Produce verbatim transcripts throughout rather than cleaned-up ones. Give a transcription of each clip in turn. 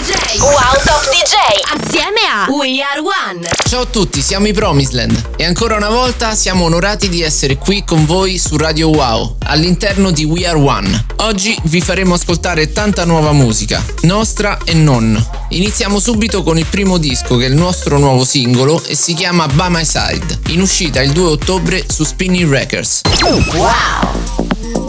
J. Wow Top D J. Assieme a We Are One. Ciao a tutti, siamo i Promisland e ancora una volta siamo onorati di essere qui con voi su Radio Wow, all'interno di We Are One. Oggi vi faremo ascoltare tanta nuova musica, nostra e non. Iniziamo subito con il primo disco, che è il nostro nuovo singolo e si chiama By My Side, in uscita il due ottobre su Spinning Records. Wow!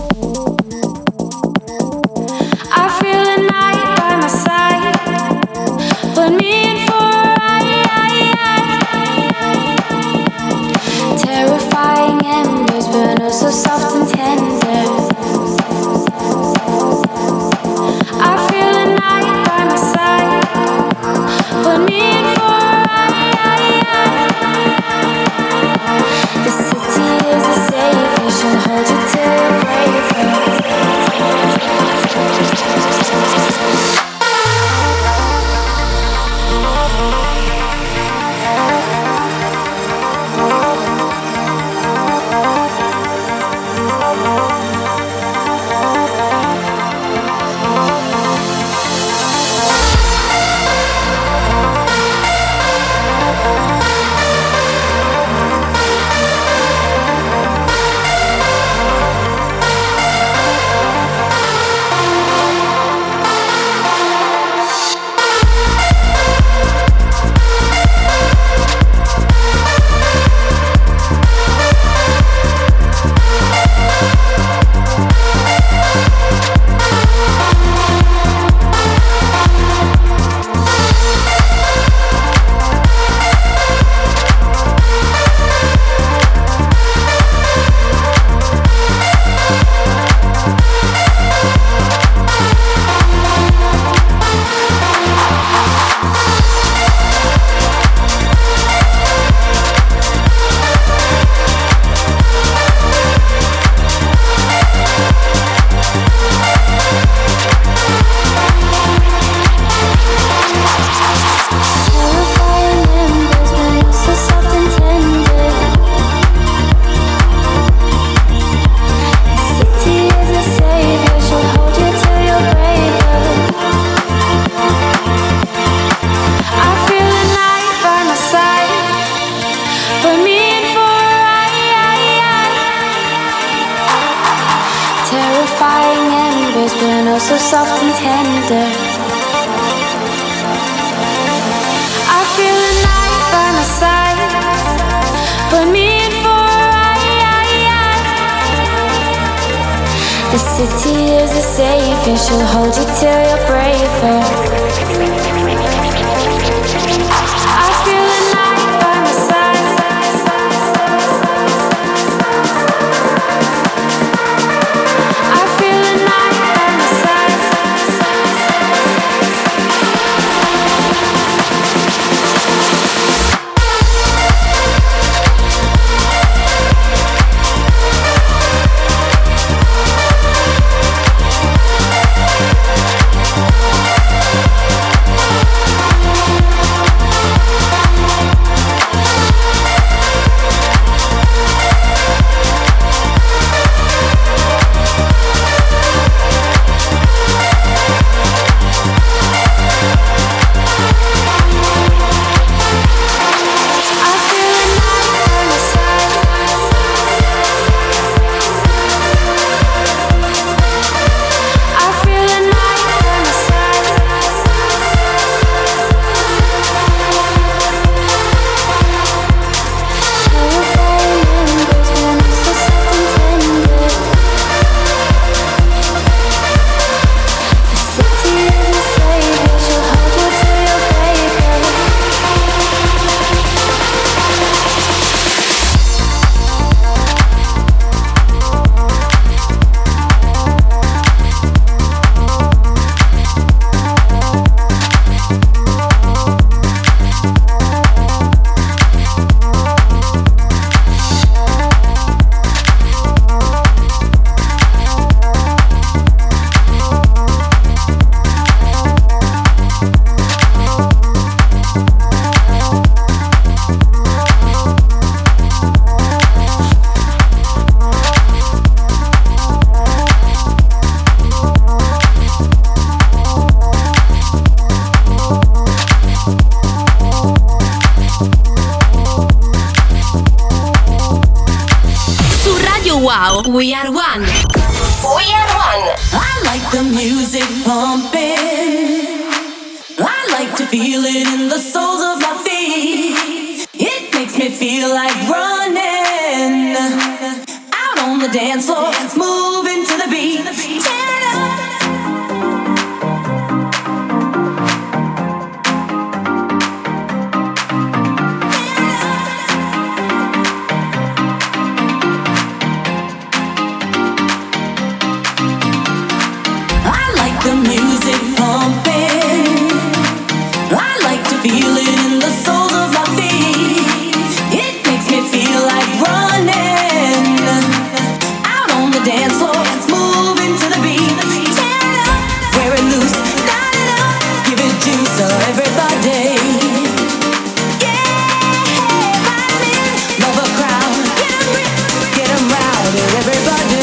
So soft and tender, I feel a night by my side. Put me in for a ride. The city is a safe haven, hold you till you're brave. So soft and tender, I feel a night by my side. Put me in for a ride. The city is a safe and she'll hold you till you're braver. I feel a night by my side. We'll be right back. Wow, We Are One. We Are One. I like the music pumping. I like to feel it in the soles of my feet. It makes me feel like running out on the dance floor, moving to the beat. Turn it up. The music pumping. I like to feel it in the soles of my feet. It makes me feel like running out on the dance floor, moving to the beat. Turn it up, wear it loose, light it up, give it juice, so everybody. Yeah, vibe in, love a crowd, get 'em ripped, get 'em rowdy, everybody.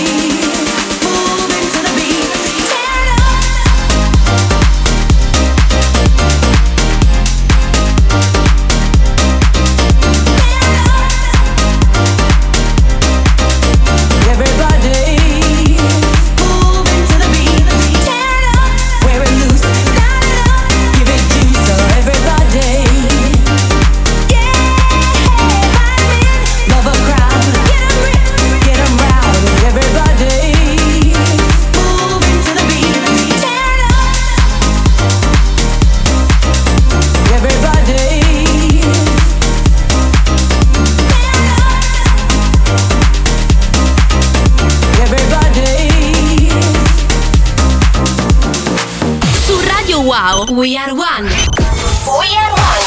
Wow, We Are One. We Are One.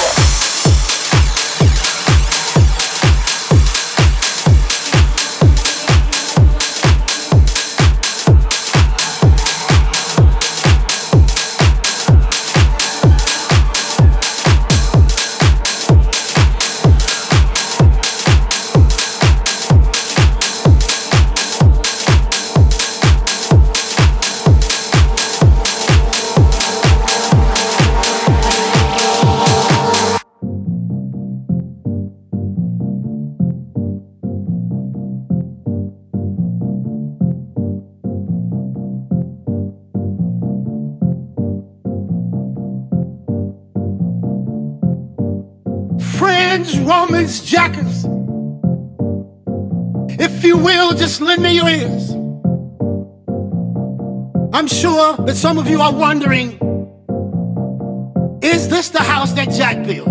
Romans, jackers, if you will, just lend me your ears. I'm sure that some of you are wondering, is this the house that Jack built?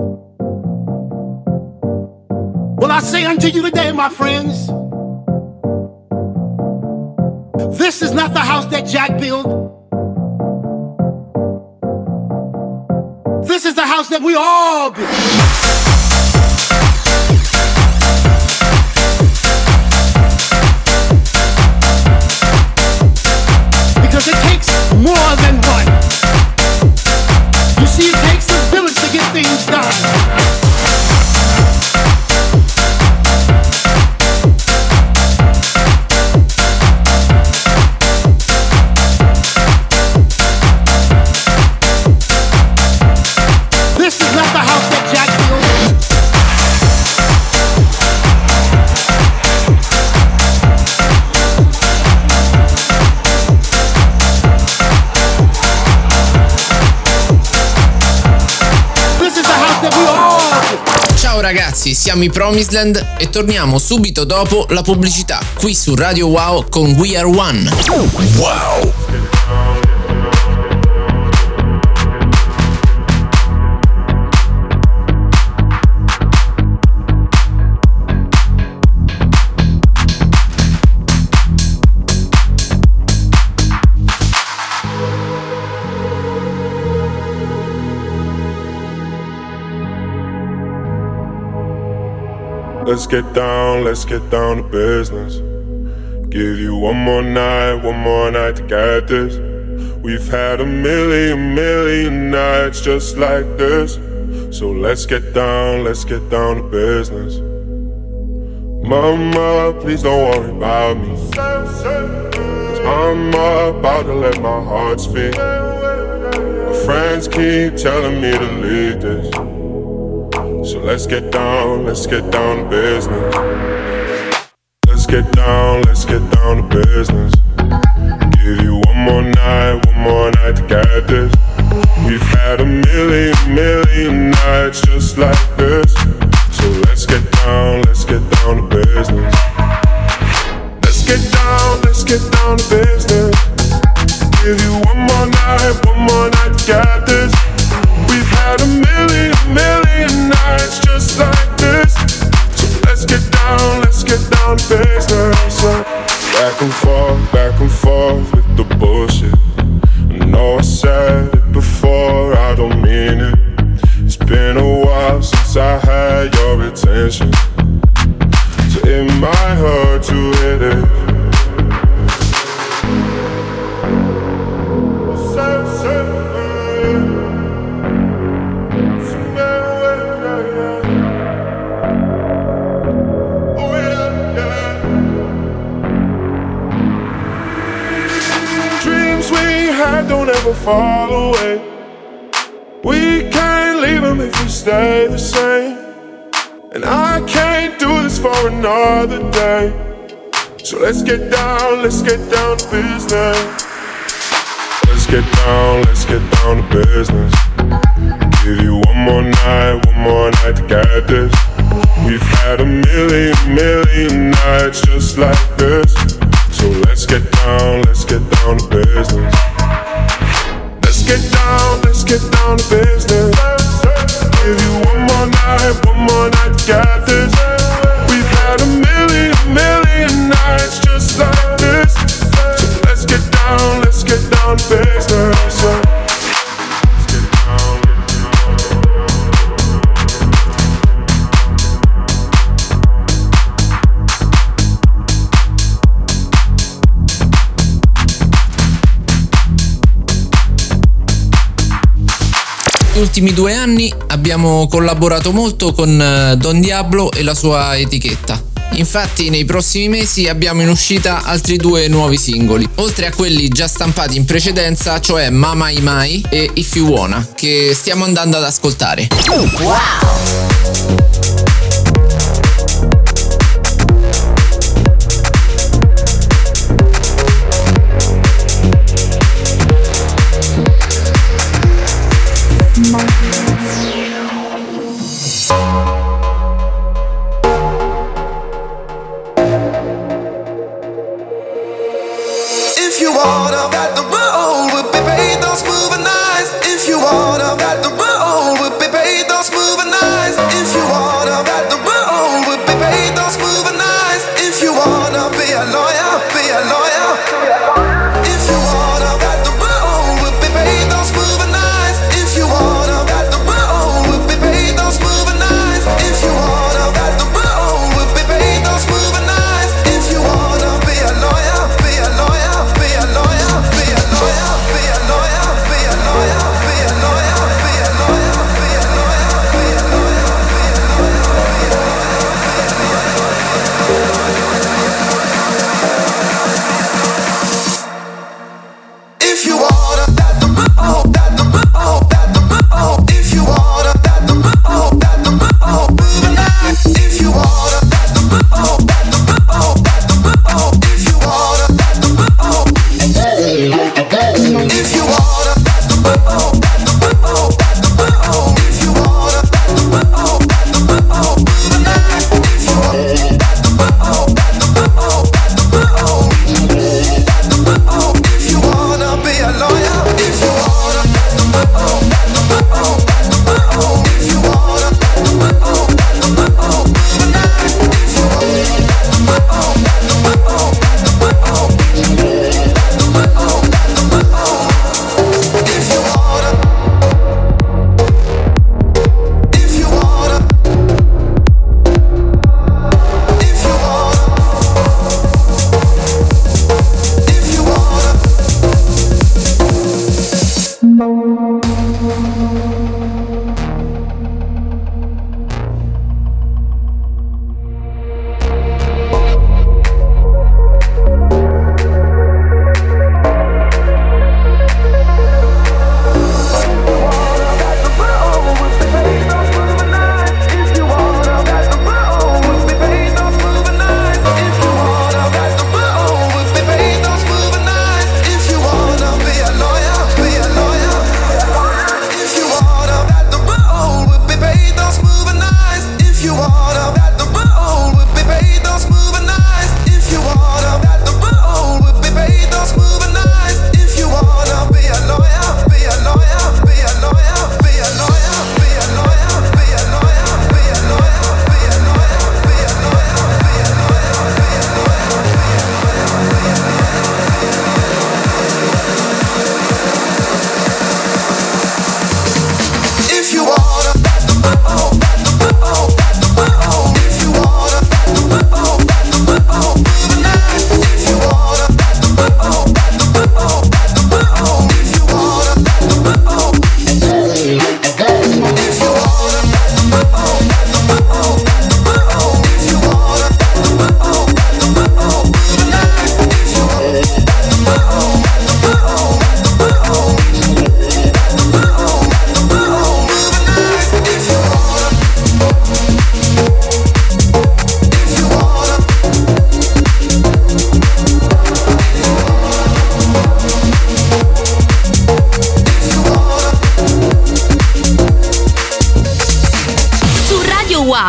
Well, I say unto you today, my friends, this is not the house that Jack built. This is the house that we all build. Because it takes more than one. You see, it takes a village to get things done. This is not the house that Jack built. Ciao ragazzi, siamo i Promised e torniamo subito dopo la pubblicità, qui su Radio Wow con We Are One. Wow! Let's get down, let's get down to business. Give you one more night, one more night to get this. We've had a million, million nights just like this. So let's get down, let's get down to business. Mama, please don't worry about me, 'cause I'm about to let my heart speak. My friends keep telling me to leave this. So let's get down, let's get down to business. Let's get down, let's get down to business. Give you one more night, one more night to get this. We've had a million, million nights just like this. So let's get down, let's get down to business. Let's get down, let's get down to business. Give you one more night, one more night to get this. We've had a million, million nights just like this. So let's get down, let's get down to business. Back and forth, back and forth with the bullshit. I know I said it before, I don't mean it. It's been a while since I had your attention, so it might hurt to hit it. Don't ever fall away. We can't leave them if we stay the same. And I can't do this for another day. So let's get down, let's get down to business. Let's get down, let's get down to business. Give you one more night, one more night to get this. We've had a million, million nights just like this. So let's get down, let's get down to business. Let's get down, let's get down to business. Give you one more night, one more night to get this. We've had a million, million nights just like this. So let's get down, let's get down to business. Negli ultimi due anni abbiamo collaborato molto con Don Diablo e la sua etichetta. Infatti nei prossimi mesi abbiamo in uscita altri due nuovi singoli, oltre a quelli già stampati in precedenza, cioè Mama I Mai e If You Wanna, che stiamo andando ad ascoltare. Wow! If you wanna, got the road, we'll be paid those moving eyes. If you wanna, got the road, we'll be paid those moving eyes. If you wanna, got the road, we'll be paid those moving eyes. If you wanna be a lawyer, be a lawyer. If you wanna, got the road, we'll be paid those moving eyes. If you wanna, got the road, we'll be paid those moving eyes. If you wanna, got the road, we'll be paid those moving eyes. If you wanna be a lawyer, be a lawyer. Be a lawyer, be a lawyer, be a lawyer, be a lawyer, be a lawyer, be a lawyer, be a lawyer, be a lawyer, if you wanna, that the oh, that the oh, that the oh, if you wanna, that the oh, that the oh, moving on. If you wanna, that the oh, that the oh, that the oh, if you wanna, that the oh. If you wanna, that the oh, that the oh, that the oh. If you wanna, that the oh, that the oh, moving on. If you wanna, that the oh, that the oh, that the oh, that the oh. If you wanna be a lawyer, if you wanna, that the oh, that the oh, that the oh. If you wanna, that the oh, that the oh, moving on. If you wanna, that the oh, that the oh, that the oh. If you wanna,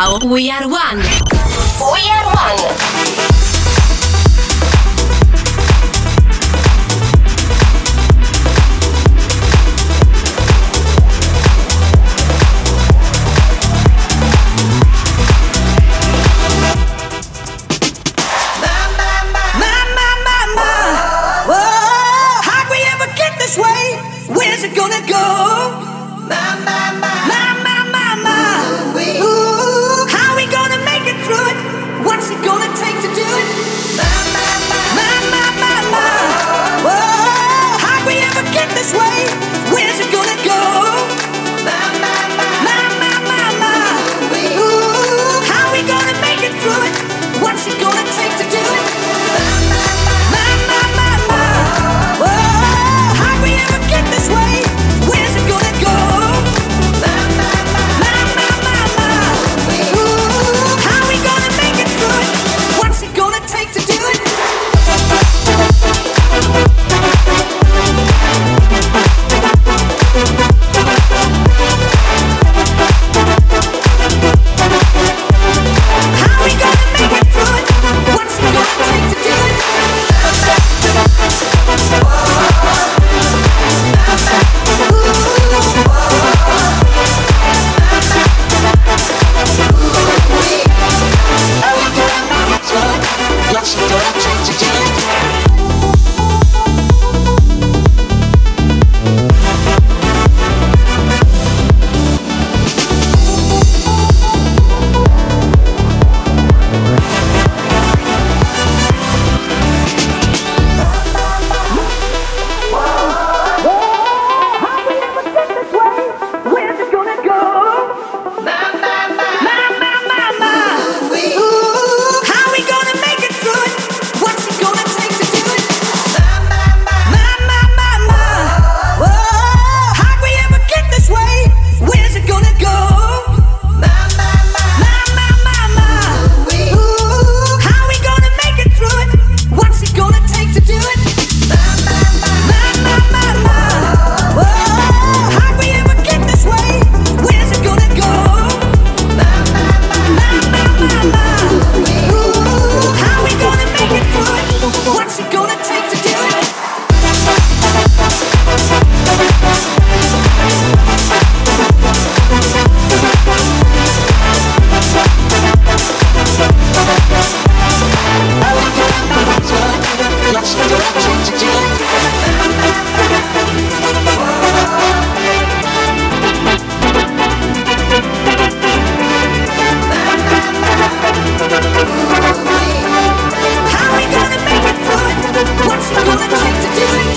Wow, we are one. We are one. Where's it gonna go? My, my, my, my, my, my, my. Ooh, how we gonna make it through it? What's it gonna take to do it? My, my, my, my, my, my. Whoa, how'd we ever get this way? Where's it gonna go? My, my, my, my, my, my. Ooh, how we gonna make it through it? What's it gonna take to do it? My, my, my, my, my. Whoa, how'd we ever get this way? Where's it gonna go? My, my, my, my, my, my. Ooh, how we gonna make it through it? What's it gonna take to do it? How we gonna make it through it? What's it gonna take to do it? What's it gonna take to do it? Where's it gonna go? My, my, my, my, my, my, my. Ooh, how we gonna make it through it? What's it gonna take to do it? My, my, my, my, my. Whoa, how'd we ever get this way? Where's it gonna go? My, my, my, my, my, my. Ooh, how we gonna make it through it? What's it gonna take to do it? My, my, my, my, my. Whoa, how'd we ever get this way? Where's it gonna go? My, my, my, my, my. Ooh, how we gonna make it through it? What's it gonna take to do it? What's it gonna take to do it? How we gonna make it through it? What's it gonna take to do it?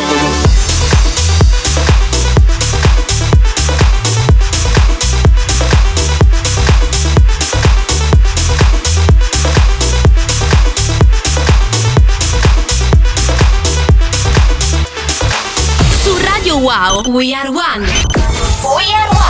Su Radio Wow, we are one. We are one.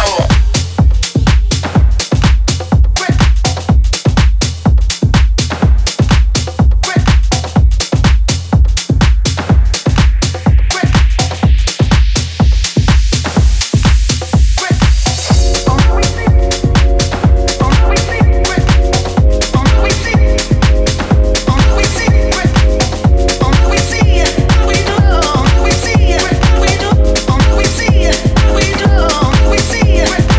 We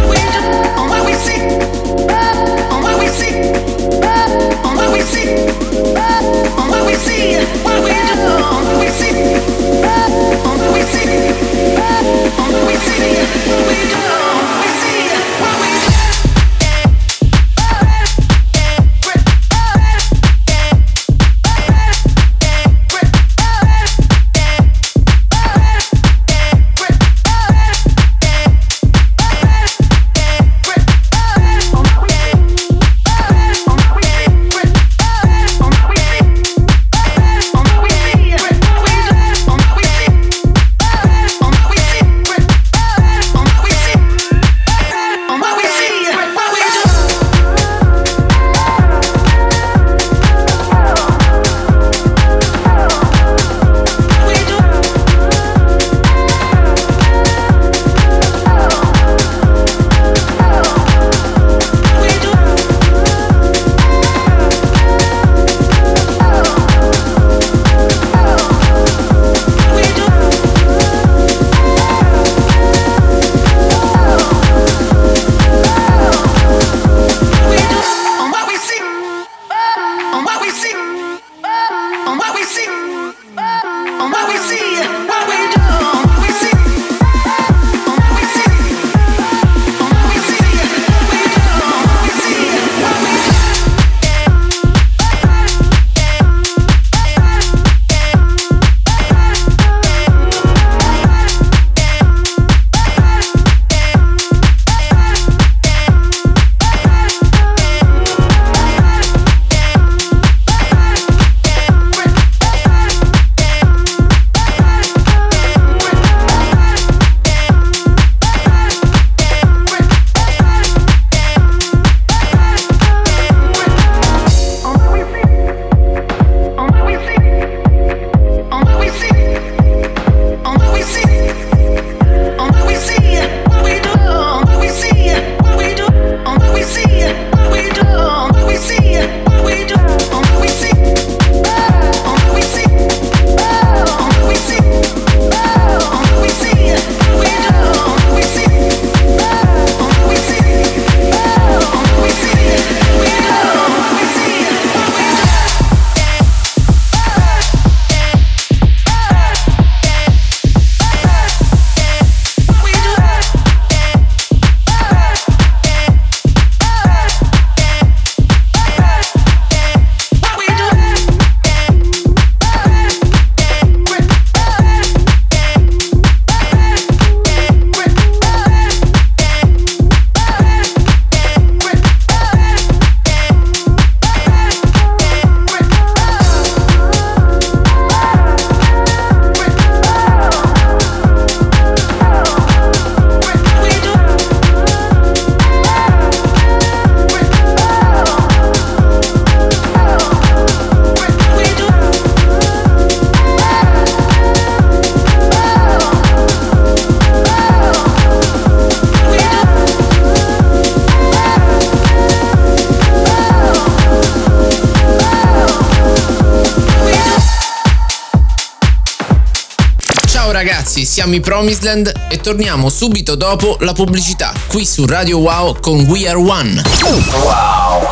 ragazzi, siamo i Promised e torniamo subito dopo la pubblicità, qui su Radio Wow con We Are One. Wow!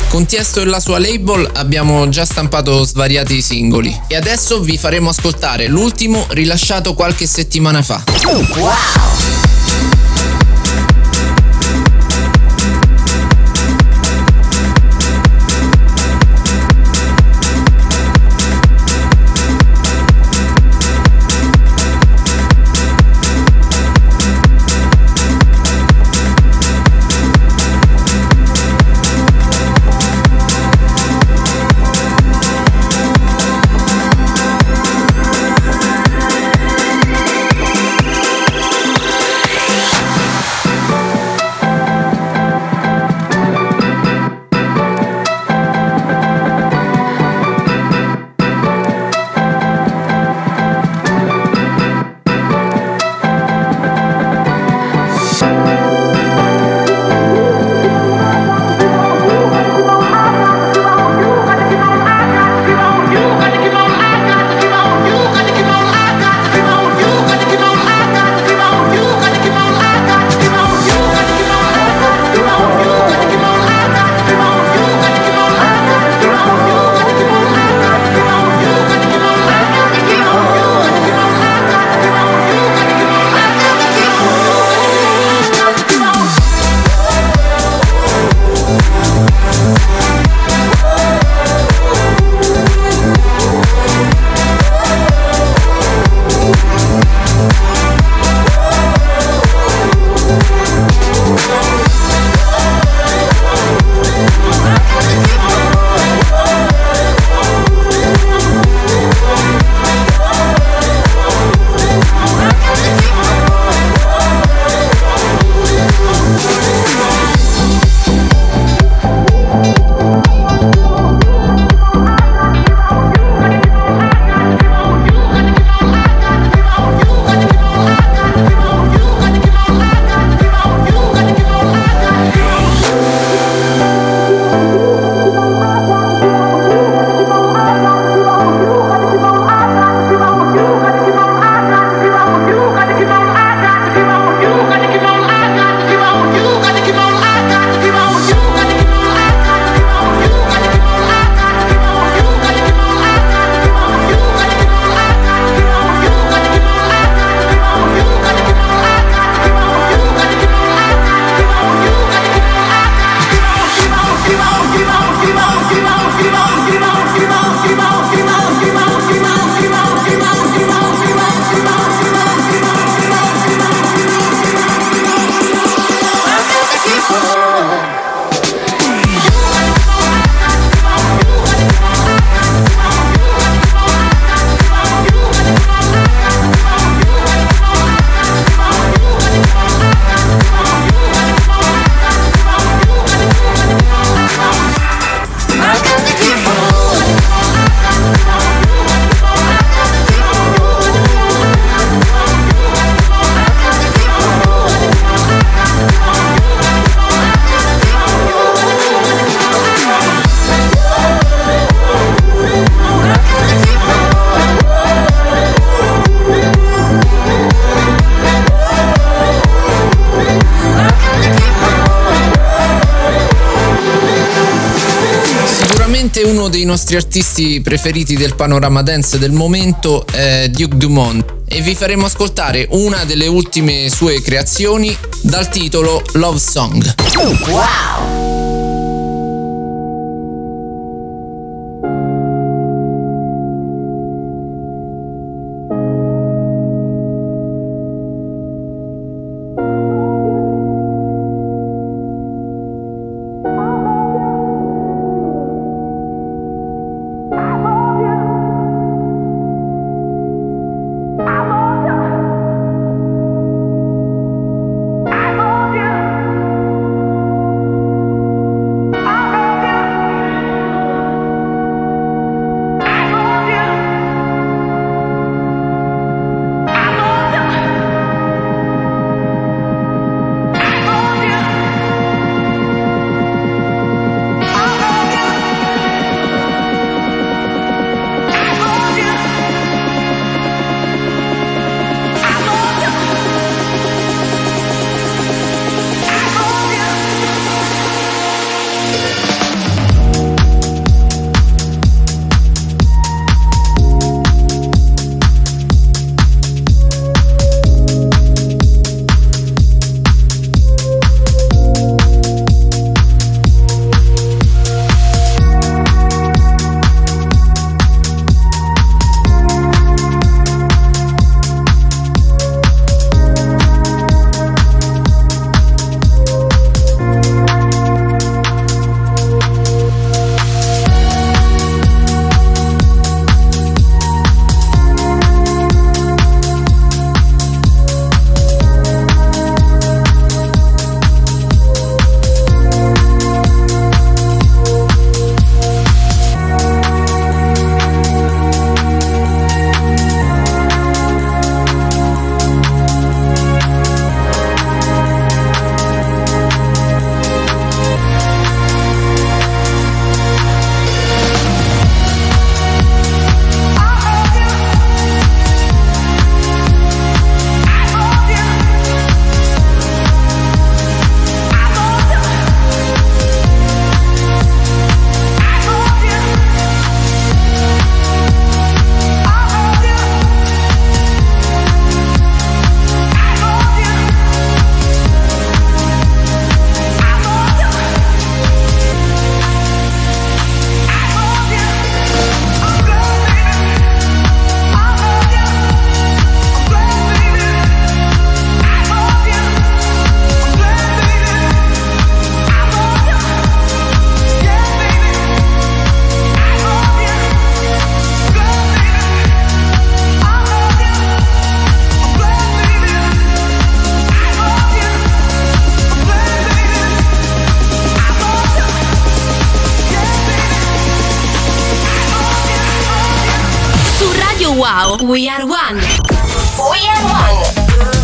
Con Tiesto e la sua label abbiamo già stampato svariati singoli e adesso vi faremo ascoltare l'ultimo rilasciato qualche settimana fa. Wow! Uno dei nostri artisti preferiti del panorama dance del momento è Duke Dumont e vi faremo ascoltare una delle ultime sue creazioni dal titolo Love Song. Wow! I love you. Radio Wow, We Are One. We Are One.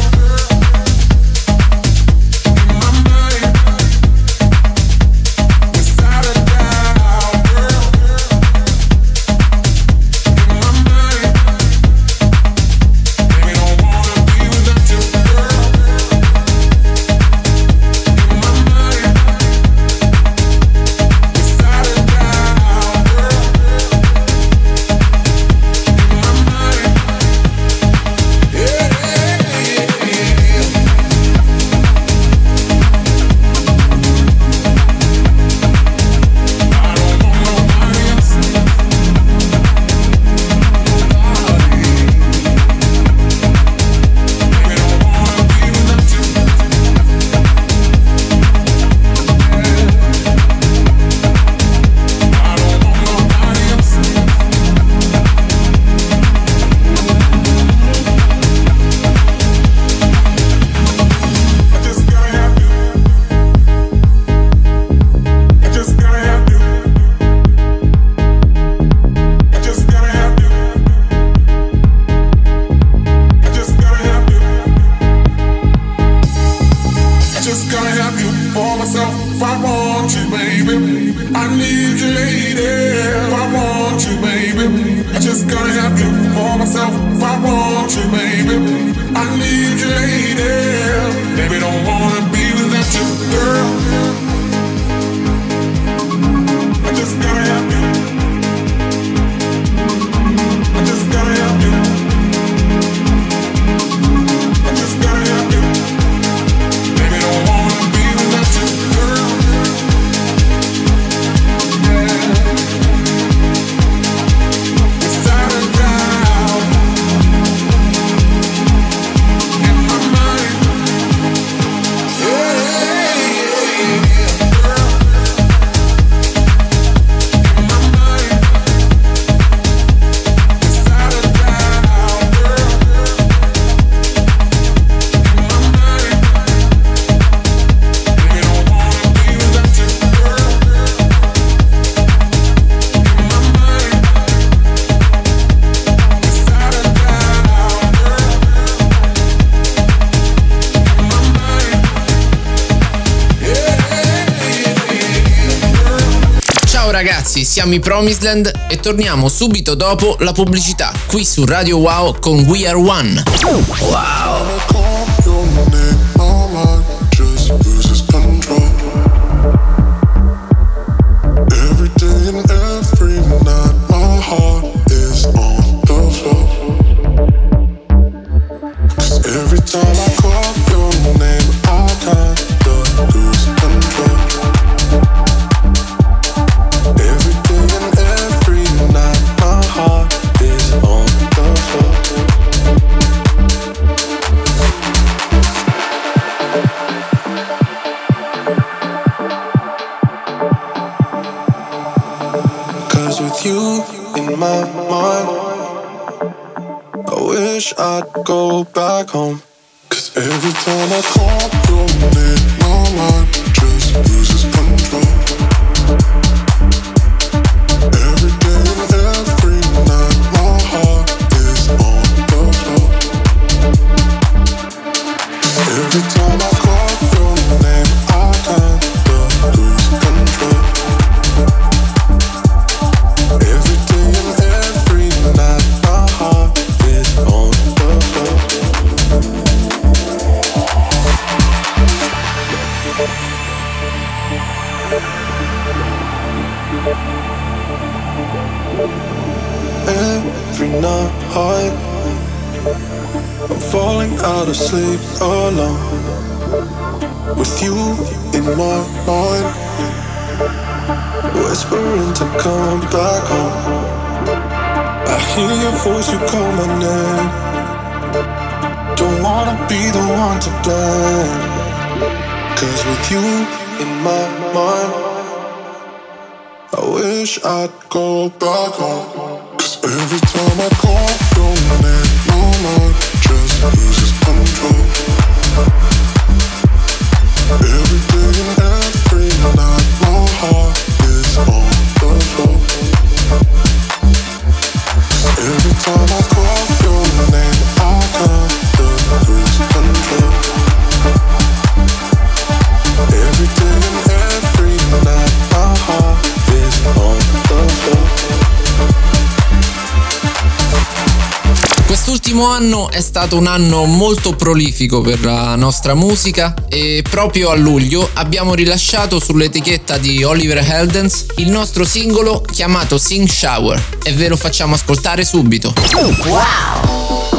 Ragazzi, siamo i Promised e torniamo subito dopo la pubblicità qui su Radio Wow con We Are One. Wow. I'd go back home. Cause every time I call your name, my mind just loses control. Every day and every night, my heart is on the floor. Every time I call your name, I can't lose control. Every day and every night, my heart is on the floor. Every night I'm falling out of sleep alone, with you in my mind, whispering to come back home. I hear your voice, you call my name. Don't wanna be the one to blame, cause with you in my mind, I wish I'd go back home. Cause every time I call your name, my mind just loses control. Every day and every night, my heart is on the floor. Every time I call L'ultimo anno è stato un anno molto prolifico per la nostra musica e proprio a luglio abbiamo rilasciato sull'etichetta di Oliver Heldens il nostro singolo chiamato Sing Shower e ve lo facciamo ascoltare subito. Wow!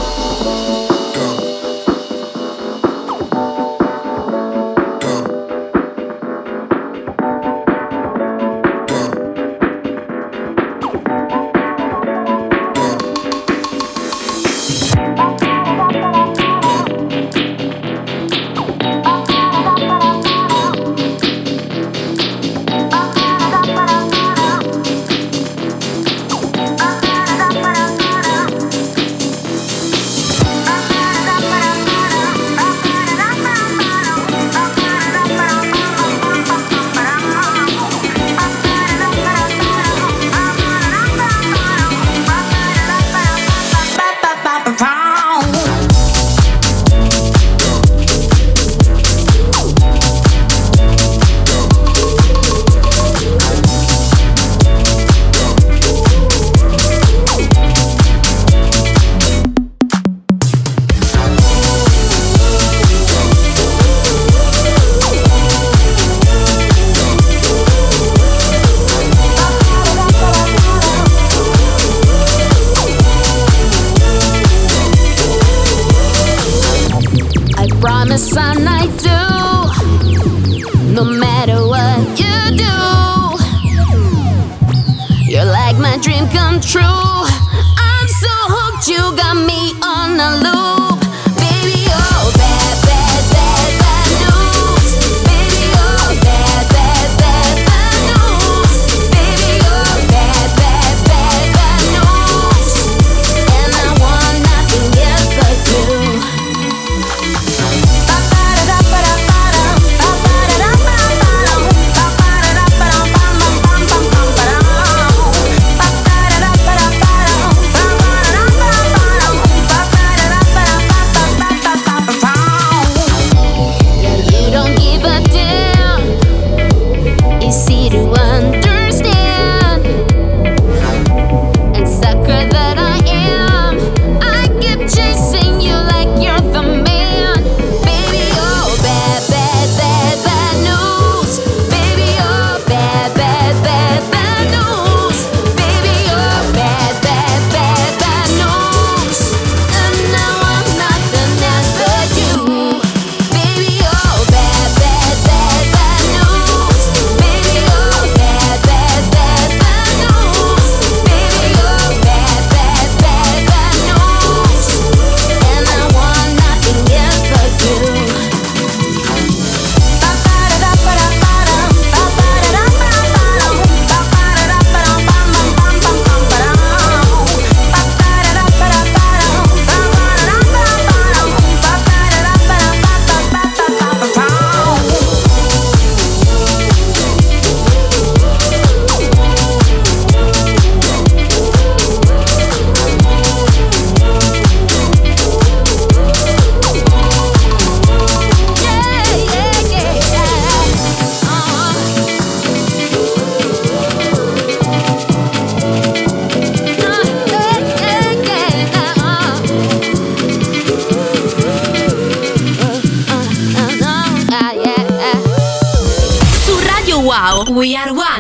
We are one.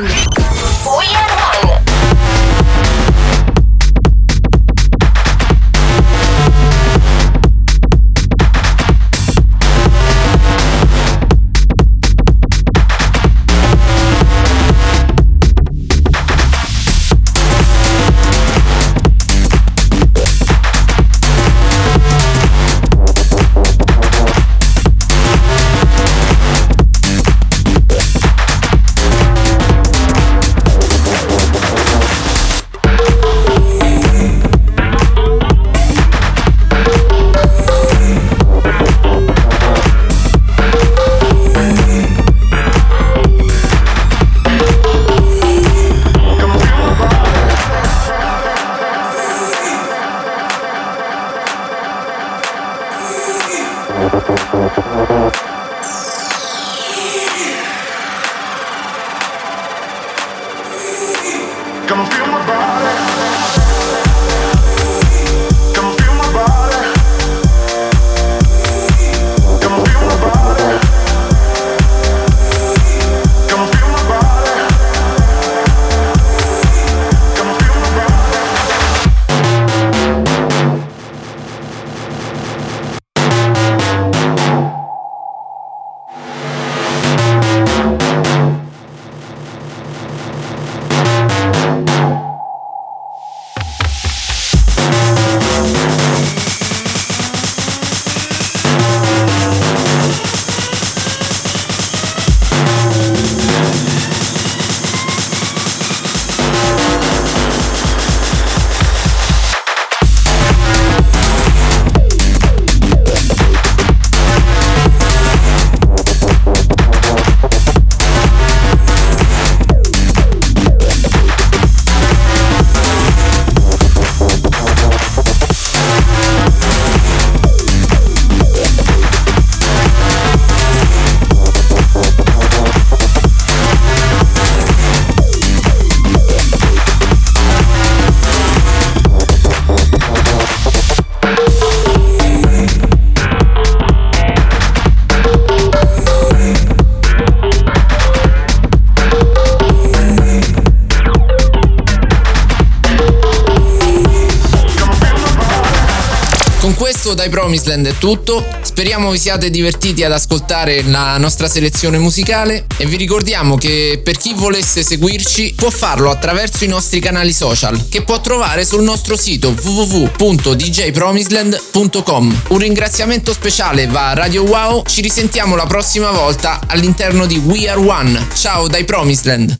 We are one. Come feel my body. Come feel my body. questo dai Promised è tutto, speriamo vi siate divertiti ad ascoltare la nostra selezione musicale e vi ricordiamo che per chi volesse seguirci può farlo attraverso i nostri canali social che può trovare sul nostro sito w w w punto d j promisland punto com. Un ringraziamento speciale va a Radio Wow, ci risentiamo la prossima volta all'interno di We Are One. Ciao dai Promised.